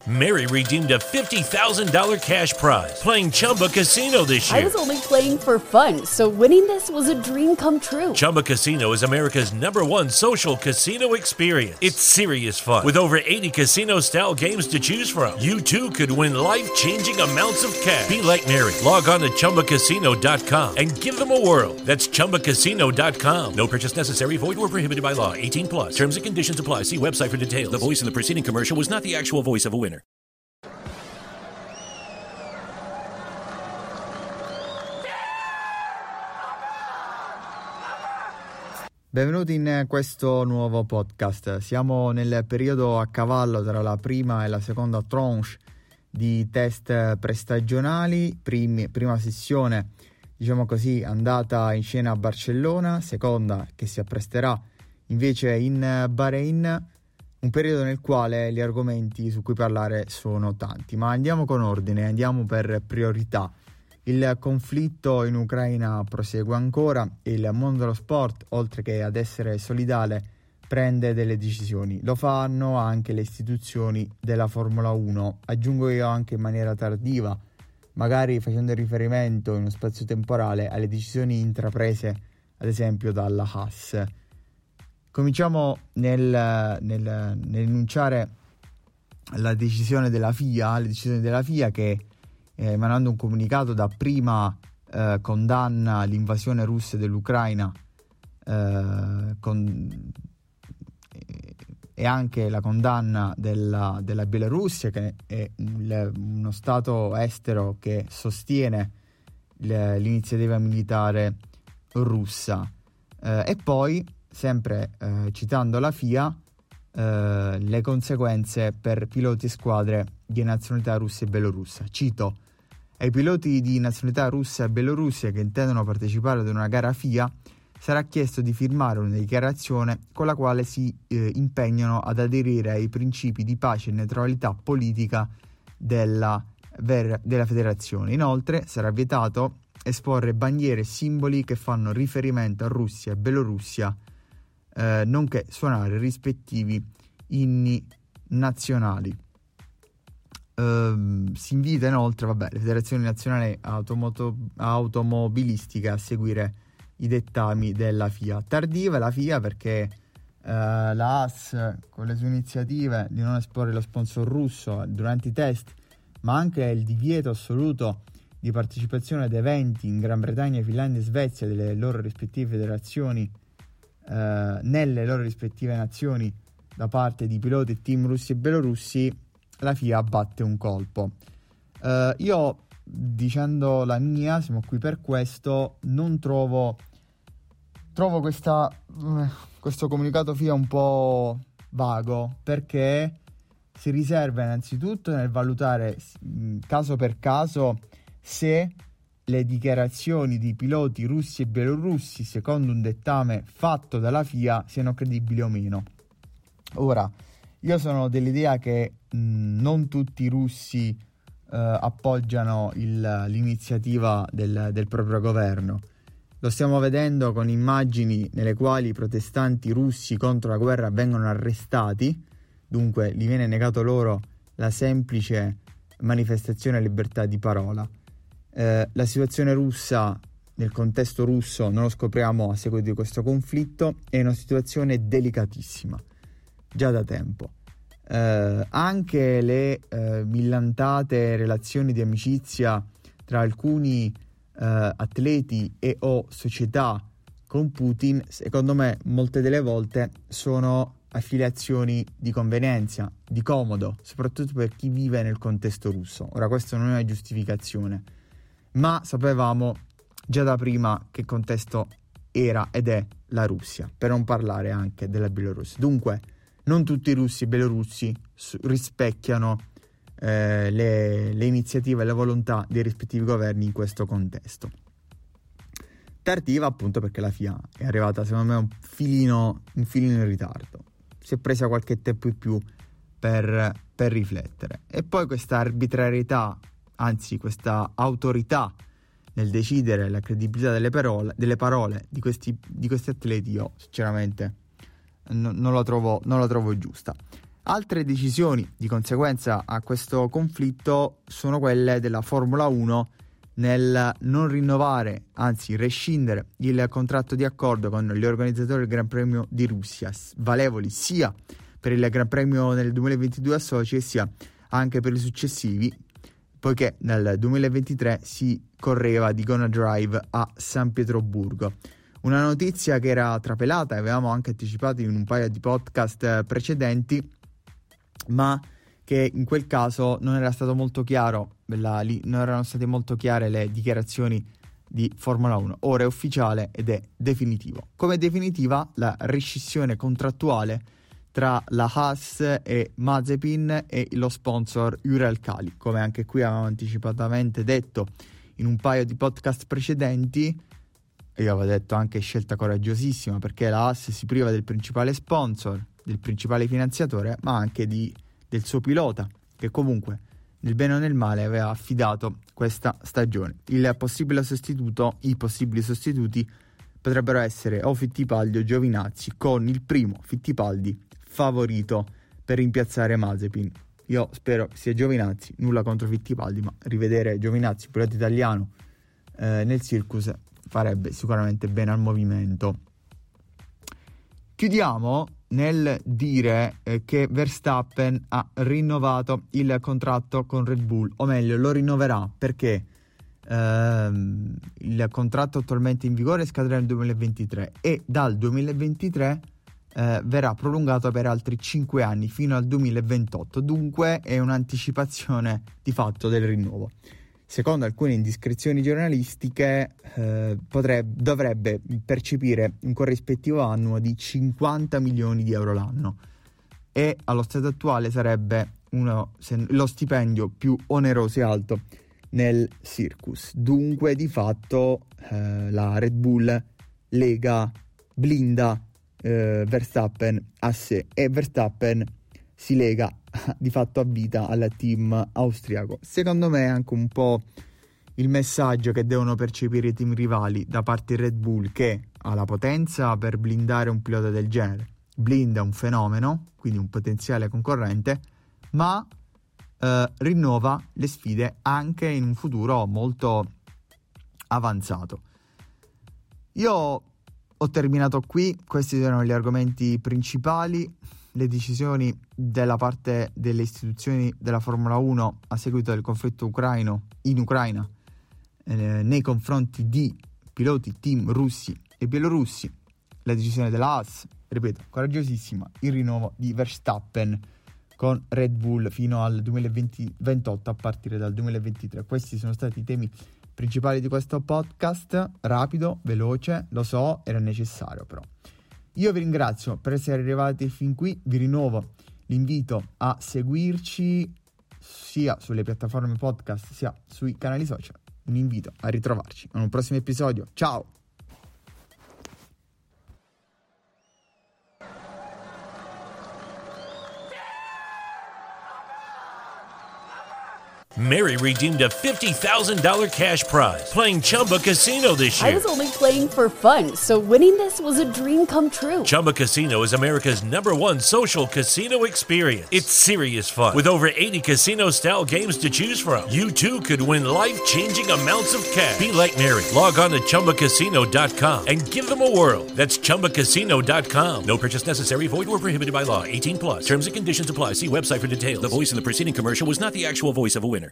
Mary redeemed a $50,000 cash prize playing Chumba Casino this year. I was only playing for fun, so winning this was a dream come true. Chumba Casino is America's #1 social casino experience. It's serious fun. With over 80 casino-style games to choose from, you too could win life-changing amounts of cash. Be like Mary. Log on to ChumbaCasino.com and give them a whirl. That's ChumbaCasino.com. No purchase necessary. Void where prohibited by law. 18 plus. Terms and conditions apply. See website for details. The voice in the preceding commercial was not the actual voice of a winner. Benvenuti in questo nuovo podcast. Siamo nel periodo a cavallo tra la prima e la seconda tranche di test prestagionali. Prima sessione, diciamo così, andata in scena a Barcellona, seconda che si appresterà invece in Bahrain, un periodo nel quale gli argomenti su cui parlare sono tanti. Ma andiamo con ordine, andiamo per priorità. Il conflitto in Ucraina prosegue ancora e il mondo dello sport, oltre che ad essere solidale, prende delle decisioni. Lo fanno anche le istituzioni della Formula 1. Aggiungo io anche in maniera tardiva, magari facendo riferimento in uno spazio temporale alle decisioni intraprese, ad esempio, dalla Haas. Cominciamo nell'enunciare la decisione della FIA, le decisioni della FIA che emanando un comunicato dapprima condanna l'invasione russa dell'Ucraina e anche la condanna della Bielorussia, che è uno stato estero che sostiene l'iniziativa militare russa, e poi sempre citando la FIA le conseguenze per piloti e squadre di nazionalità russa e belorussa. Cito: ai piloti di nazionalità russa e belorussia che intendono partecipare ad una gara FIA sarà chiesto di firmare una dichiarazione con la quale si impegnano ad aderire ai principi di pace e neutralità politica della federazione. Inoltre sarà vietato esporre bandiere e simboli che fanno riferimento a Russia e Belorussia, nonché suonare rispettivi inni nazionali. Si invita inoltre le federazioni nazionali automobilistiche a seguire i dettami della FIA. Tardiva la FIA perché la Haas, con le sue iniziative di non esporre lo sponsor russo durante i test, ma anche il divieto assoluto di partecipazione ad eventi in Gran Bretagna, Finlandia e Svezia delle loro rispettive federazioni, nelle loro rispettive nazioni, da parte di piloti e team russi e belorussi, la FIA batte un colpo. Io, dicendo la mia, siamo qui per questo, non trovo questo comunicato FIA un po' vago, perché si riserva innanzitutto nel valutare caso per caso se le dichiarazioni di piloti russi e bielorussi, secondo un dettame fatto dalla FIA, siano credibili o meno. Ora, io sono dell'idea che non tutti i russi appoggiano l'iniziativa del proprio governo. Lo stiamo vedendo con immagini nelle quali i protestanti russi contro la guerra vengono arrestati, dunque gli viene negato loro la semplice manifestazione e libertà di parola. La situazione russa, nel contesto russo, non lo scopriamo a seguito di questo conflitto, è una situazione delicatissima, già da tempo. Anche le millantate relazioni di amicizia tra alcuni atleti e o società con Putin, secondo me molte delle volte sono affiliazioni di convenienza, di comodo, soprattutto per chi vive nel contesto russo. Ora, questo non è una giustificazione, ma sapevamo già da prima che contesto era ed è la Russia, per non parlare anche della Bielorussia. Dunque non tutti i russi e belorussi rispecchiano le iniziative e la volontà dei rispettivi governi in questo contesto. Tardiva appunto perché la FIA è arrivata, secondo me, un filino in ritardo. Si è presa qualche tempo in più per riflettere. E poi questa arbitrarietà, anzi questa autorità nel decidere la credibilità delle parole di questi atleti, io sinceramente non la trovo giusta. Altre decisioni di conseguenza a questo conflitto sono quelle della Formula 1 nel non rinnovare, anzi rescindere il contratto di accordo con gli organizzatori del Gran Premio di Russia, valevoli sia per il Gran Premio nel 2022 a Sochi sia anche per i successivi, poiché nel 2023 si correva di Gonna Drive a San Pietroburgo. Una notizia che era trapelata e avevamo anche anticipato in un paio di podcast precedenti, ma che in quel caso non era stato molto chiaro, non erano state molto chiare le dichiarazioni di Formula 1. Ora è ufficiale ed è definitivo. Come definitiva la rescissione contrattuale tra la Haas e Mazepin e lo sponsor Uralkali. Come anche qui avevamo anticipatamente detto in un paio di podcast precedenti, io avevo detto anche scelta coraggiosissima, perché la Haas si priva del principale sponsor, del principale finanziatore, ma anche del suo pilota, che comunque nel bene o nel male aveva affidato questa stagione. I possibili sostituti potrebbero essere o Fittipaldi o Giovinazzi, con il primo, Fittipaldi, favorito per rimpiazzare Mazepin. Io spero sia Giovinazzi, nulla contro Fittipaldi, ma rivedere Giovinazzi, pilota italiano, nel circus farebbe sicuramente bene al movimento. Chiudiamo nel dire che Verstappen ha rinnovato il contratto con Red Bull, o meglio lo rinnoverà perché il contratto attualmente in vigore scadrà nel 2023 e dal 2023 verrà prolungato per altri 5 anni fino al 2028, dunque è un'anticipazione di fatto del rinnovo. Secondo alcune indiscrezioni giornalistiche dovrebbe percepire un corrispettivo annuo di 50 milioni di euro l'anno e allo stato attuale sarebbe lo stipendio più oneroso e alto nel circus. Dunque di fatto la Red Bull blinda Verstappen a sé e Verstappen si lega di fatto a vita al team austriaco. Secondo me è anche un po' il messaggio che devono percepire i team rivali da parte di Red Bull, che ha la potenza per blindare un pilota del genere, blinda un fenomeno, quindi un potenziale concorrente, ma rinnova le sfide anche in un futuro molto avanzato. Io ho terminato qui, questi erano gli argomenti principali. Le decisioni della parte delle istituzioni della Formula 1 a seguito del conflitto in Ucraina nei confronti di piloti team russi e bielorussi, la decisione della Haas, ripeto, coraggiosissima, il rinnovo di Verstappen con Red Bull fino al 2028 a partire dal 2023. Questi sono stati i temi principali di questo podcast, rapido, veloce, lo so, era necessario però. Io vi ringrazio per essere arrivati fin qui, vi rinnovo l'invito a seguirci sia sulle piattaforme podcast sia sui canali social. Un invito a ritrovarci in un prossimo episodio. Ciao! Mary redeemed a $50,000 cash prize playing Chumba Casino this year. I was only playing for fun, so winning this was a dream come true. Chumba Casino is America's #1 social casino experience. It's serious fun. With over 80 casino-style games to choose from, you too could win life-changing amounts of cash. Be like Mary. Log on to ChumbaCasino.com and give them a whirl. That's ChumbaCasino.com. No purchase necessary. Void where prohibited by law. 18+. Terms and conditions apply. See website for details. The voice in the preceding commercial was not the actual voice of a winner.